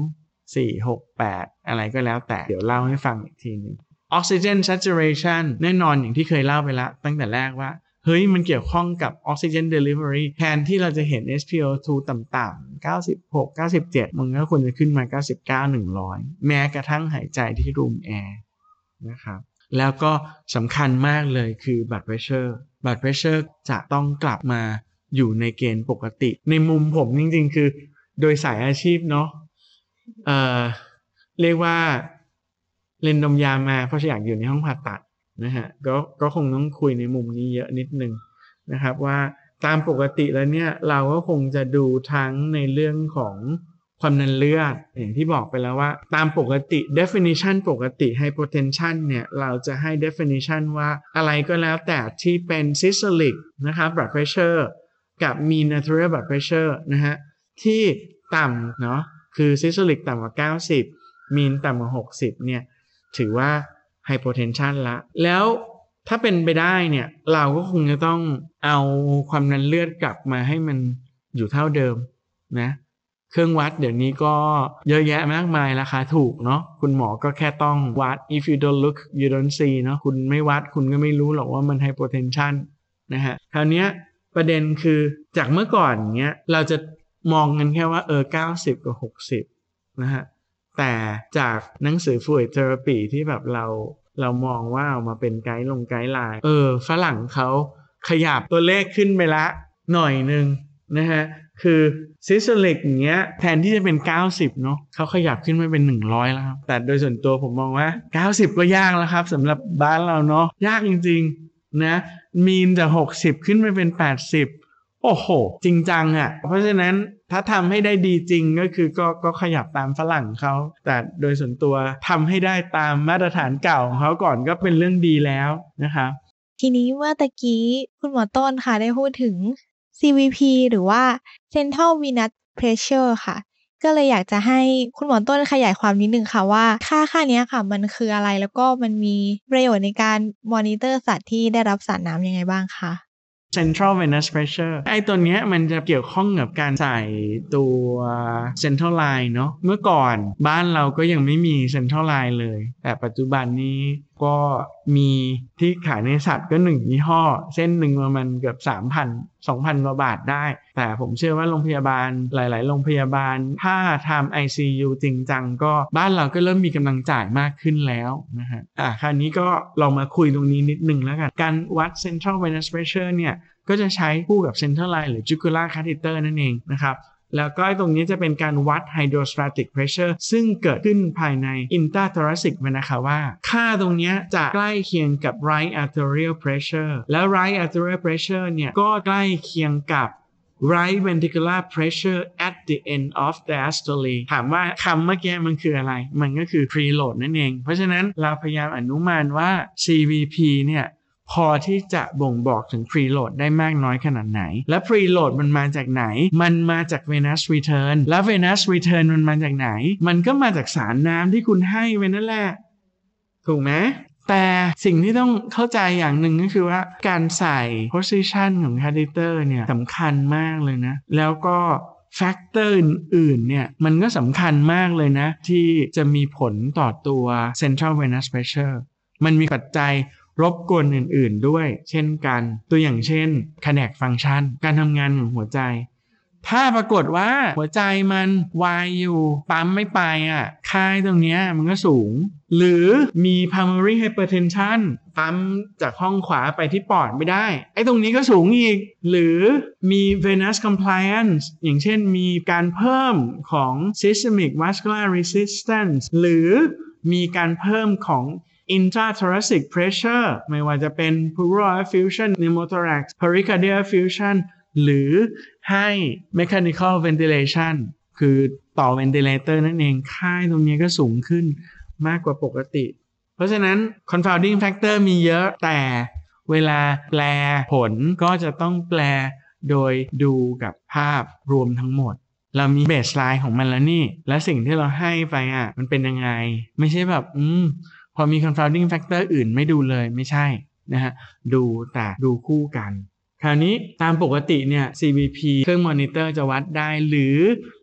สี่ หก แปดอะไรก็แล้วแต่เดี๋ยวเล่าให้ฟังอีกทีนึง Oxygen Saturation แน่นอนอย่างที่เคยเล่าไปแล้วตั้งแต่แรกว่าเฮ้ยมันเกี่ยวข้องกับ Oxygen Delivery แทนที่เราจะเห็น เอส พี โอ ทู ต่ำๆเก้าสิบหก เก้าสิบเจ็ดมันก็ควรจะขึ้นมาเก้าสิบเก้า หนึ่งร้อยแม้กระทั่งหายใจที่ room air นะครับแล้วก็สำคัญมากเลยคือ blood pressure blood pressure จะต้องกลับมาอยู่ในเกณฑ์ปกติในมุมผมจริงๆคือโดยสายอาชีพเนาะเอ่อเรียกว่าเรียนดมยามาเพราะอยากอยู่ในห้องผ่าตัดนะฮะก็ก็คงต้องคุยในมุมนี้เยอะนิดนึงนะครับว่าตามปกติแล้วเนี่ยเราก็คงจะดูทั้งในเรื่องของความดันเลือดอย่างที่บอกไปแล้วว่าตามปกติ definition ปกติ hypotension เนี่ยเราจะให้ definition ว่าอะไรก็แล้วแต่ที่เป็น systolic นะครับ blood pressure กับ mean arterial blood pressure นะฮะที่ต่ำเนาะคือ systolic ต่ำกว่าเก้าสิบ mean ต่ำกว่าหกสิบเนี่ยถือว่า hypotension ละแล้วถ้าเป็นไปได้เนี่ยเราก็คงจะต้องเอาความดันเลือดกลับมาให้มันอยู่เท่าเดิมนะเครื่องวัดเดี๋ยวนี้ก็เยอะแยะมากมายราคาถูกเนาะคุณหมอก็แค่ต้องวัด if you don't look you don't see เนาะคุณไม่วัดคุณก็ไม่รู้หรอกว่ามัน hypotension นะฮะคราวนี้ประเด็นคือจากเมื่อก่อนเนี้ยเราจะมองกันแค่ว่าเออเก้าสิบกับหกสิบนะฮะแต่จากหนังสือ Fluid Therapy ที่แบบเราเรามองว่าเอามาเป็นไกด์ลงไกด์ไลน์เออฝรั่งเขาขยับตัวเลขขึ้นไปละหน่อยนึงนะฮะคือ systolic อย่างเงี้ยแทนที่จะเป็นเก้าสิบเนาะเขาขยับขึ้นมาเป็นหนึ่งร้อยแล้วครับแต่โดยส่วนตัวผมมองว่าเก้าสิบก็ยากแล้วครับสำหรับบ้านเราเนาะยากจริงๆนะมีนจากหกสิบขึ้นไปเป็นแปดสิบโอ้โหจริงจังอ่ะเพราะฉะนั้นถ้าทำให้ได้ดีจริงก็คือก็ก็ขยับตามฝรั่งเขาแต่โดยส่วนตัวทำให้ได้ตามมาตรฐานเก่าของเขาก่อนก็เป็นเรื่องดีแล้วนะครับทีนี้เมื่อตะกี้คุณหมอต้นค่ะได้พูดถึง ซี วี พี หรือว่า Central Venous Pressure ค่ะก็เลยอยากจะให้คุณหมอต้นขยายความนิดนึงค่ะว่าค่าค่านี้ค่ะมันคืออะไรแล้วก็มันมีประโยชน์ในการมอนิเตอร์สัตว์ที่ได้รับสารน้ำยังไงบ้างคะ Central Venous Pressure ไอ้ตัวเนี้ยมันจะเกี่ยวข้องกับการใส่ตัว Central Line เนาะเมื่อก่อนบ้านเราก็ยังไม่มี Central Line เลยแต่ปัจจุบันนี้ก็มีที่ขายในสัตว์ก็หนึ่งยี่ห้อเส้นหนึ่งประมาณเกือบ สามพัน สองพัน กว่าบาทได้แต่ผมเชื่อว่าโรงพยาบาลหลายๆโรงพยาบาลถ้าทำ ไอ ซี ยู จริงจังก็บ้านเราก็เริ่มมีกำลังจ่ายมากขึ้นแล้วนะฮะอ่ะคราวนี้ก็ลองมาคุยตรงนี้นิดนึงแล้วกันการวัด Central Venous Pressure เนี่ยก็จะใช้คู่กับ Central Line หรือ Jugular Catheter นั่นเองนะครับแล้วก็ตรงนี้จะเป็นการวัด Hydrostatic Pressure ซึ่งเกิดขึ้นภายใน Intrathoracic Vena Cava ค่าตรงนี้จะใกล้เคียงกับ Right Arterial Pressure แล้ว Right Arterial Pressure เนี่ยก็ใกล้เคียงกับ Right Ventricular Pressure at the end of diastole ถามว่าคำเมื่อกี้มันคืออะไรมันก็คือ preload นั่นเองเพราะฉะนั้นเราพยายามอนุมานว่า ซี วี พี เนี่ยพอที่จะบ่งบอกถึง preload ได้มากน้อยขนาดไหนและ preload มันมาจากไหนมันมาจาก venous return แล้ว venous return มันมาจากไหนมันก็มาจากสารน้ำที่คุณให้ไปนั่นแหละถูกไหมแต่สิ่งที่ต้องเข้าใจอย่างหนึ่งก็คือว่าการใส่ position ของ catheter เนี่ยสำคัญมากเลยนะแล้วก็ factor อื่นๆเนี่ยมันก็สำคัญมากเลยนะที่จะมีผลต่อตัว central venous pressure มันมีปัจจัยรบกวนอื่นๆด้วยเช่นกันตัวอย่างเช่น cardiac function การทำงานของหัวใจถ้าปรากฏว่าหัวใจมันวายอยู่ปั๊มไม่ไปอ่ะค่าตรงเนี้ยมันก็สูงหรือมี pulmonary hypertension ปั๊มจากห้องขวาไปที่ปอดไม่ได้ไอ้ตรงนี้ก็สูงอีกหรือมี venous compliance อย่างเช่นมีการเพิ่มของ systemic vascular resistance หรือมีการเพิ่มของIntrathoracic pressure ไม่ว่าจะเป็น pleural effusion pneumothorax pericardial effusion หรือให้ mechanical ventilation คือต่อ ventilator นั่นเองค่าตรงนี้ก็สูงขึ้นมากกว่าปกติเพราะฉะนั้น confounding factor มีเยอะแต่เวลาแปลผลก็จะต้องแปลโดยดูกับภาพรวมทั้งหมดเรามี baseline ของมันแล้วนี่และสิ่งที่เราให้ไปอ่ะมันเป็นยังไงไม่ใช่แบบอืมพอมี confounding factor อื่นไม่ดูเลยไม่ใช่นะฮะดูแต่ดูคู่กันคราวนี้ตามปกติเนี่ย ซี วี พี เครื่องมอนิเตอร์จะวัดได้หรือ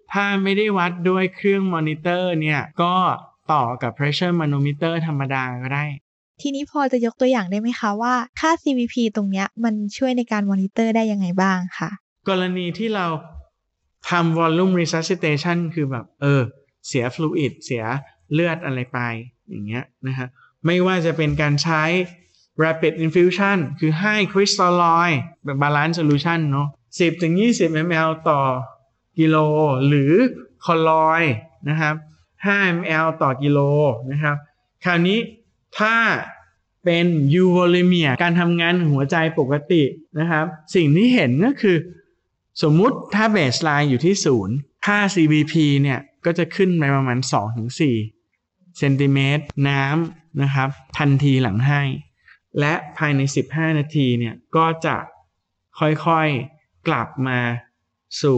ถ้าไม่ได้วัดด้วยเครื่องมอนิเตอร์เนี่ยก็ต่อกับ pressure manometer ธรรมดาก็ได้ทีนี้พอจะยกตัวอย่างได้ไหมคะว่าค่า ซี วี พี ตรงเนี้ยมันช่วยในการมอนิเตอร์ได้ยังไงบ้างค่ะกรณีที่เราทำ volume resuscitation คือแบบเออเสีย fluid เสียเลือดอะไรไปอย่างเงี้ยนะฮะไม่ว่าจะเป็นการใช้ rapid infusion คือให้ crystalloid แบบ balance solution เนาะ สิบถึงยี่สิบ มิลลิลิตร ต่อกิโลหรือ colloid นะครับ ห้า มิลลิลิตร ต่อกิโลนะครับคราวนี้ถ้าเป็น euvolemia การทำงานหัวใจปกตินะครับสิ่งที่เห็นก็คือสมมุติถ้า baseline อยู่ที่ศูนย์ค่า ซี วี พี เนี่ยก็จะขึ้นไปประมาณ สองถึงสี่ เซนติเมตรน้ำนะครับทันทีหลังให้และภายในสิบห้านาทีเนี่ยก็จะค่อยๆกลับมาสู่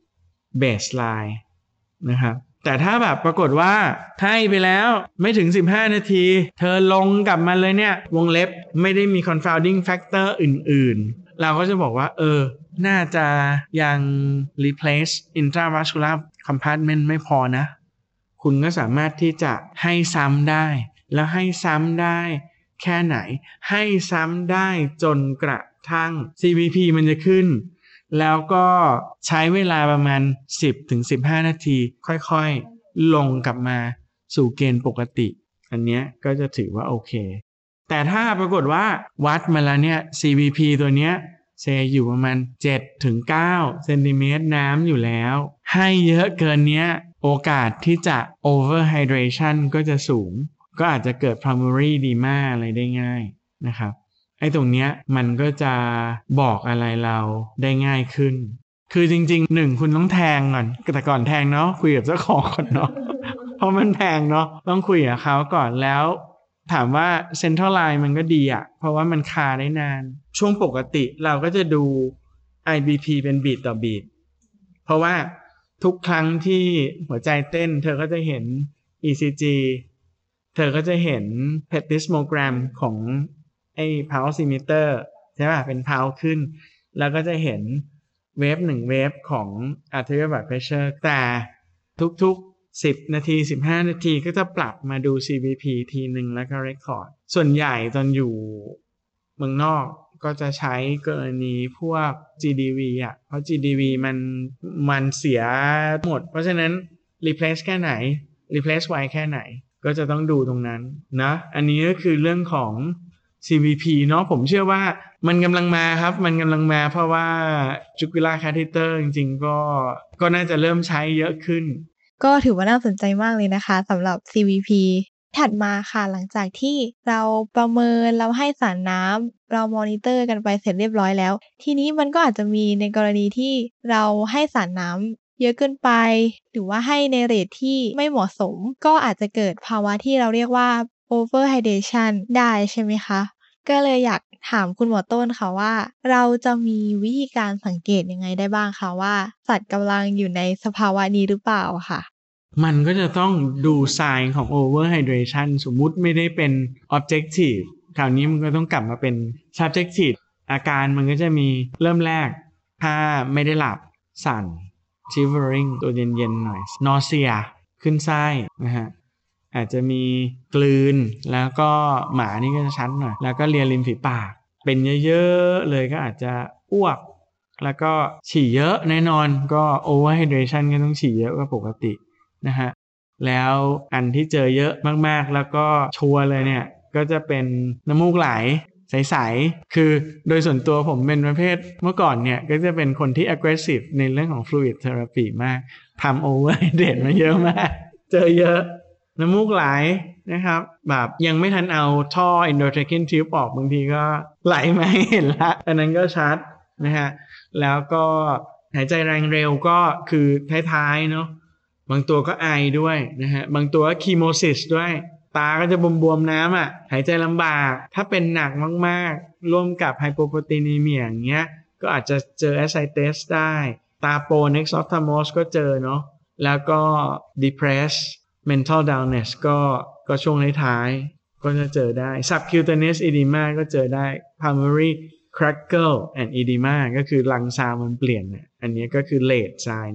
baseline นะครับแต่ถ้าแบบปรากฏว่าให้ไปแล้วไม่ถึงสิบห้านาทีเธอลงกลับมาเลยเนี่ยวงเล็บไม่ได้มี confounding factor อื่นๆเราก็จะบอกว่าเออน่าจะยัง replace intravascular compartment ไม่พอนะคุณก็สามารถที่จะให้ซ้ำได้แล้วให้ซ้ำได้แค่ไหนให้ซ้ำได้จนกระทั่ง ซี วี พี มันจะขึ้นแล้วก็ใช้เวลาประมาณ สิบถึงสิบห้า นาทีค่อยๆลงกลับมาสู่เกณฑ์ปกติอันเนี้ยก็จะถือว่าโอเคแต่ถ้าปรากฏว่าวัดมาแล้วเนี่ย ซี วี พี ตัวเนี้ยเซอยู่ประมาณ เจ็ดถึงเก้า เซนติเมตรน้ำอยู่แล้วให้เยอะเกินเนี้ยโอกาสที่จะ overhydration ก็จะสูงก็อาจจะเกิด primary edema อะไรได้ง่ายนะครับไอ้ตรงเนี้ยมันก็จะบอกอะไรเราได้ง่ายขึ้นคือจริงๆหนึ่งคุณต้องแทงก่อนแต่ก่อนแทงเนาะคุยกับเจ้าของก่อนเนาะ เพราะมันแพงเนาะต้องคุยกับเขาก่อนแล้วถามว่า central line มันก็ดีอะเพราะว่ามันคาได้นานช่วงปกติเราก็จะดู ไอ บี พี เป็นบีทต่อบีทเพราะว่าทุกครั้งที่หัวใจเต้นเธอก็จะเห็น อี ซี จี เธอก็จะเห็น plethysmogram ของไอ้ pulse oximeter ใช่ป่ะเป็น pulse ขึ้นแล้วก็จะเห็นเวฟหนึ่งเวฟของ arterial blood pressure แต่ทุกๆสิบนาทีสิบห้านาทีก็จะปรับมาดู ซี วี พี ทีนึงแล้วก็ record ส่วนใหญ่ตอนอยู่เมืองนอกก็จะใช้กรณีพวก จี ดี วี อ่ะเพราะ จี ดี วี มันมันเสียหมดเพราะฉะนั้น replace แค่ไหน replace ไวแค่ไหนก็จะต้องดูตรงนั้นนะอันนี้ก็คือเรื่องของ ซี วี พี เนาะผมเชื่อว่ามันกำลังมาครับมันกำลังมาเพราะว่า jugular catheter จริงๆก็ก็น่าจะเริ่มใช้เยอะขึ้นก็ถือว่าน่าสนใจมากเลยนะคะสำหรับ ซี วี พี ถัดมาค่ะหลังจากที่เราประเมินเราให้สารน้ำเรามอนิเตอร์กันไปเสร็จเรียบร้อยแล้วทีนี้มันก็อาจจะมีในกรณีที่เราให้สารน้ำเยอะเกินไปหรือว่าให้ในเรทที่ไม่เหมาะสมก็อาจจะเกิดภาวะที่เราเรียกว่า overhydration ได้ใช่ไหมคะก็เลยอยากถามคุณหมอต้นค่ะว่าเราจะมีวิธีการสังเกตยังไงได้บ้างคะว่าสัตว์กำลังอยู่ในสภาวะนี้หรือเปล่าค่ะมันก็จะต้องดู sign ของ overhydration สมมุติไม่ได้เป็น objective คราวนี้มันก็ต้องกลับมาเป็น subjective อาการมันก็จะมีเริ่มแรกถ้าไม่ได้หลับสั่น shivering ตัวเย็นๆหน่อย nausea ขึ้นไส้นะฮะอาจจะมีกลืนแล้วก็หมานี่ก็จะชัดหน่อยแล้วก็เลียริมฝีปากเป็นเยอะๆเลยก็อาจจะอ้วกแล้วก็ฉี่เยอะแน่นอนก็ overhydration ก็ต้องฉี่เยอะกว่าปกตินะฮะแล้วอันที่เจอเยอะมากๆแล้วก็ชัวร์เลยเนี่ยก็จะเป็นน้ำมูกไหลใสๆคือโดยส่วนตัวผมเป็นประเภทเมื่อก่อนเนี่ยก็จะเป็นคนที่ aggressive ในเรื่องของ fluid therapy มากทำ overhydrate มาเยอะมากเจอเยอะน้ำมูกไหลนะครับแบบยังไม่ทันเอาท่อ endotracheal tube ออกบางทีก็ไหลมาให้เห็นละอันนั้นก็ชัดนะฮะแล้วก็หายใจแรงเร็วก็คือท้ายๆเนาะบางตัวก็ไอด้วยนะฮะบางตัวก็คีโมซิสด้วยตาก็จะบวมๆน้ำอ่ะหายใจลำบากถ้าเป็นหนักมากๆร่วมกับไฮโปโปรตีนีเมียอย่างเงี้ยก็อาจจะเจอแอสไซเตสได้ตาโปเน็กซ์ออฟทามอสก็เจอเนาะแล้วก็ depress mental dullness ก็ก็ช่วงท้ายๆก็จะเจอได้ subcutaneous edema ก็เจอได้ pulmonary crackle and edema ก็คือลังซาวมันเปลี่ยนเนี่ยอันนี้ก็คือ late sign ละ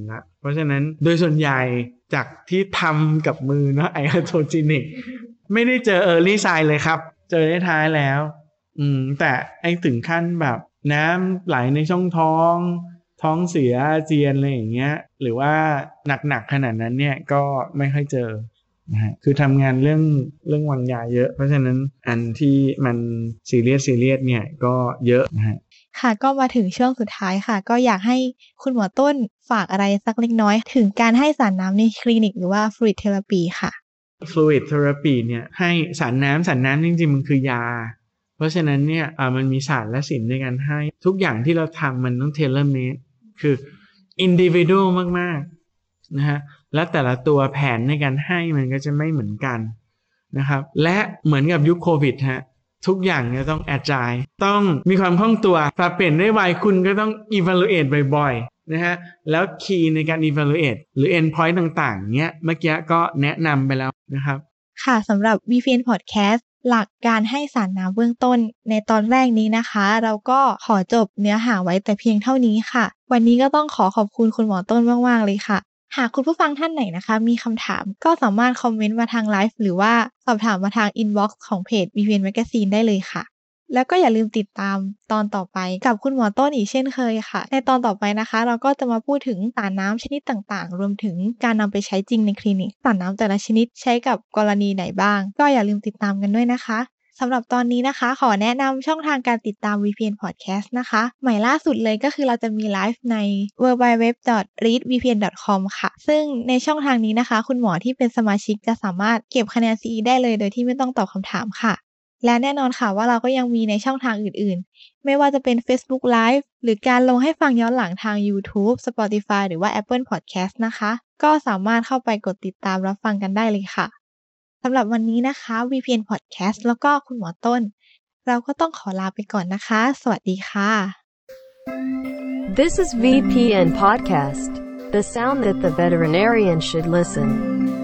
เพราะฉะนั้นโดยส่วนใหญ่จากที่ทำกับมือเนาะไออะโทจินิกไม่ได้เจอ early sign เลยครับเจอได้ท้ายแล้วอืมแต่ไอถึงขั้นแบบน้ำไหลในช่องท้องท้องเสียอาเจียนอะไรอย่างเงี้ยหรือว่าหนักๆขนาดนั้นเนี่ยก็ไม่ค่อยเจอนะฮะคือทำงานเรื่องเรื่องวางยาเยอะเพราะฉะนั้นอันที่มันซีเรียสซีเรียสเนี่ยก็เยอะนะฮะค่ะก็มาถึงช่วงสุดท้ายค่ะก็อยากให้คุณหมอต้นฝากอะไรสักเล็กน้อยถึงการให้สารน้ำในคลินิกหรือว่า fluid therapy ค่ะ fluid therapy เนี่ยให้สารน้ำสารน้ำจริงๆมันคือยาเพราะฉะนั้นเนี่ยอ่ามันมีศาสตร์และศิลป์ในการให้ทุกอย่างที่เราทำมันต้อง tailor made คือ individual มากๆนะฮะและแต่ละตัวแผนในการให้มันก็จะไม่เหมือนกันนะครับและเหมือนกับยุคโควิดฮะทุกอย่างเนี่ยต้อง agile ต้องมีความคล่องตัวปรับเปลี่ยนได้ไวคุณก็ต้อง evaluate บ่อยๆนะฮะแล้ว key ในการ evaluate หรือ endpoint ต่างๆเนี้ยเมื่อกี้ก็แนะนำไปแล้วนะครับค่ะสำหรับ วี พี เอ็น Podcast หลักการให้สารน้ำเบื้องต้นในตอนแรกนี้นะคะเราก็ขอจบเนื้อหาไว้แต่เพียงเท่านี้ค่ะวันนี้ก็ต้องขอขอบคุณคุณหมอต้นมากๆเลยค่ะหากคุณผู้ฟังท่านไหนนะคะมีคำถามก็สามารถคอมเมนต์มาทางไลฟ์หรือว่าสอบถามมาทางอินบ็อกซ์ของเพจ วี พี เอ็น Magazine ได้เลยค่ะแล้วก็อย่าลืมติดตามตอนต่อไปกับคุณหมอต้นอีกเช่นเคยค่ะในตอนต่อไปนะคะเราก็จะมาพูดถึงสารน้ำชนิดต่างๆรวมถึงการนำไปใช้จริงในคลินิกสารน้ำแต่ละชนิดใช้กับกรณีไหนบ้างก็อย่าลืมติดตามกันด้วยนะคะสำหรับตอนนี้นะคะขอแนะนำช่องทางการติดตาม วี พี เอ็น Podcast นะคะใหม่ล่าสุดเลยก็คือเราจะมีไลฟ์ใน ดับเบิลยู ดับเบิลยู ดับเบิลยู ดอท รีด วี พี เอ็น ดอท คอม ค่ะซึ่งในช่องทางนี้นะคะคุณหมอที่เป็นสมาชิกจะสามารถเก็บคะแนน ซี อี ได้เลยโดยที่ไม่ต้องตอบคำถามค่ะและแน่นอนค่ะว่าเราก็ยังมีในช่องทางอื่นๆไม่ว่าจะเป็น Facebook Live หรือการลงให้ฟังย้อนหลังทาง YouTube Spotify หรือว่า Apple Podcast นะคะก็สามารถเข้าไปกดติดตามรับฟังกันได้เลยค่ะสำหรับวันนี้นะคะ วี พี เอ็น Podcast แล้วก็คุณหมอต้นเราก็ต้องขอลาไปก่อนนะคะสวัสดีค่ะ This is วี พี เอ็น Podcast, the sound that the veterinarian should listen.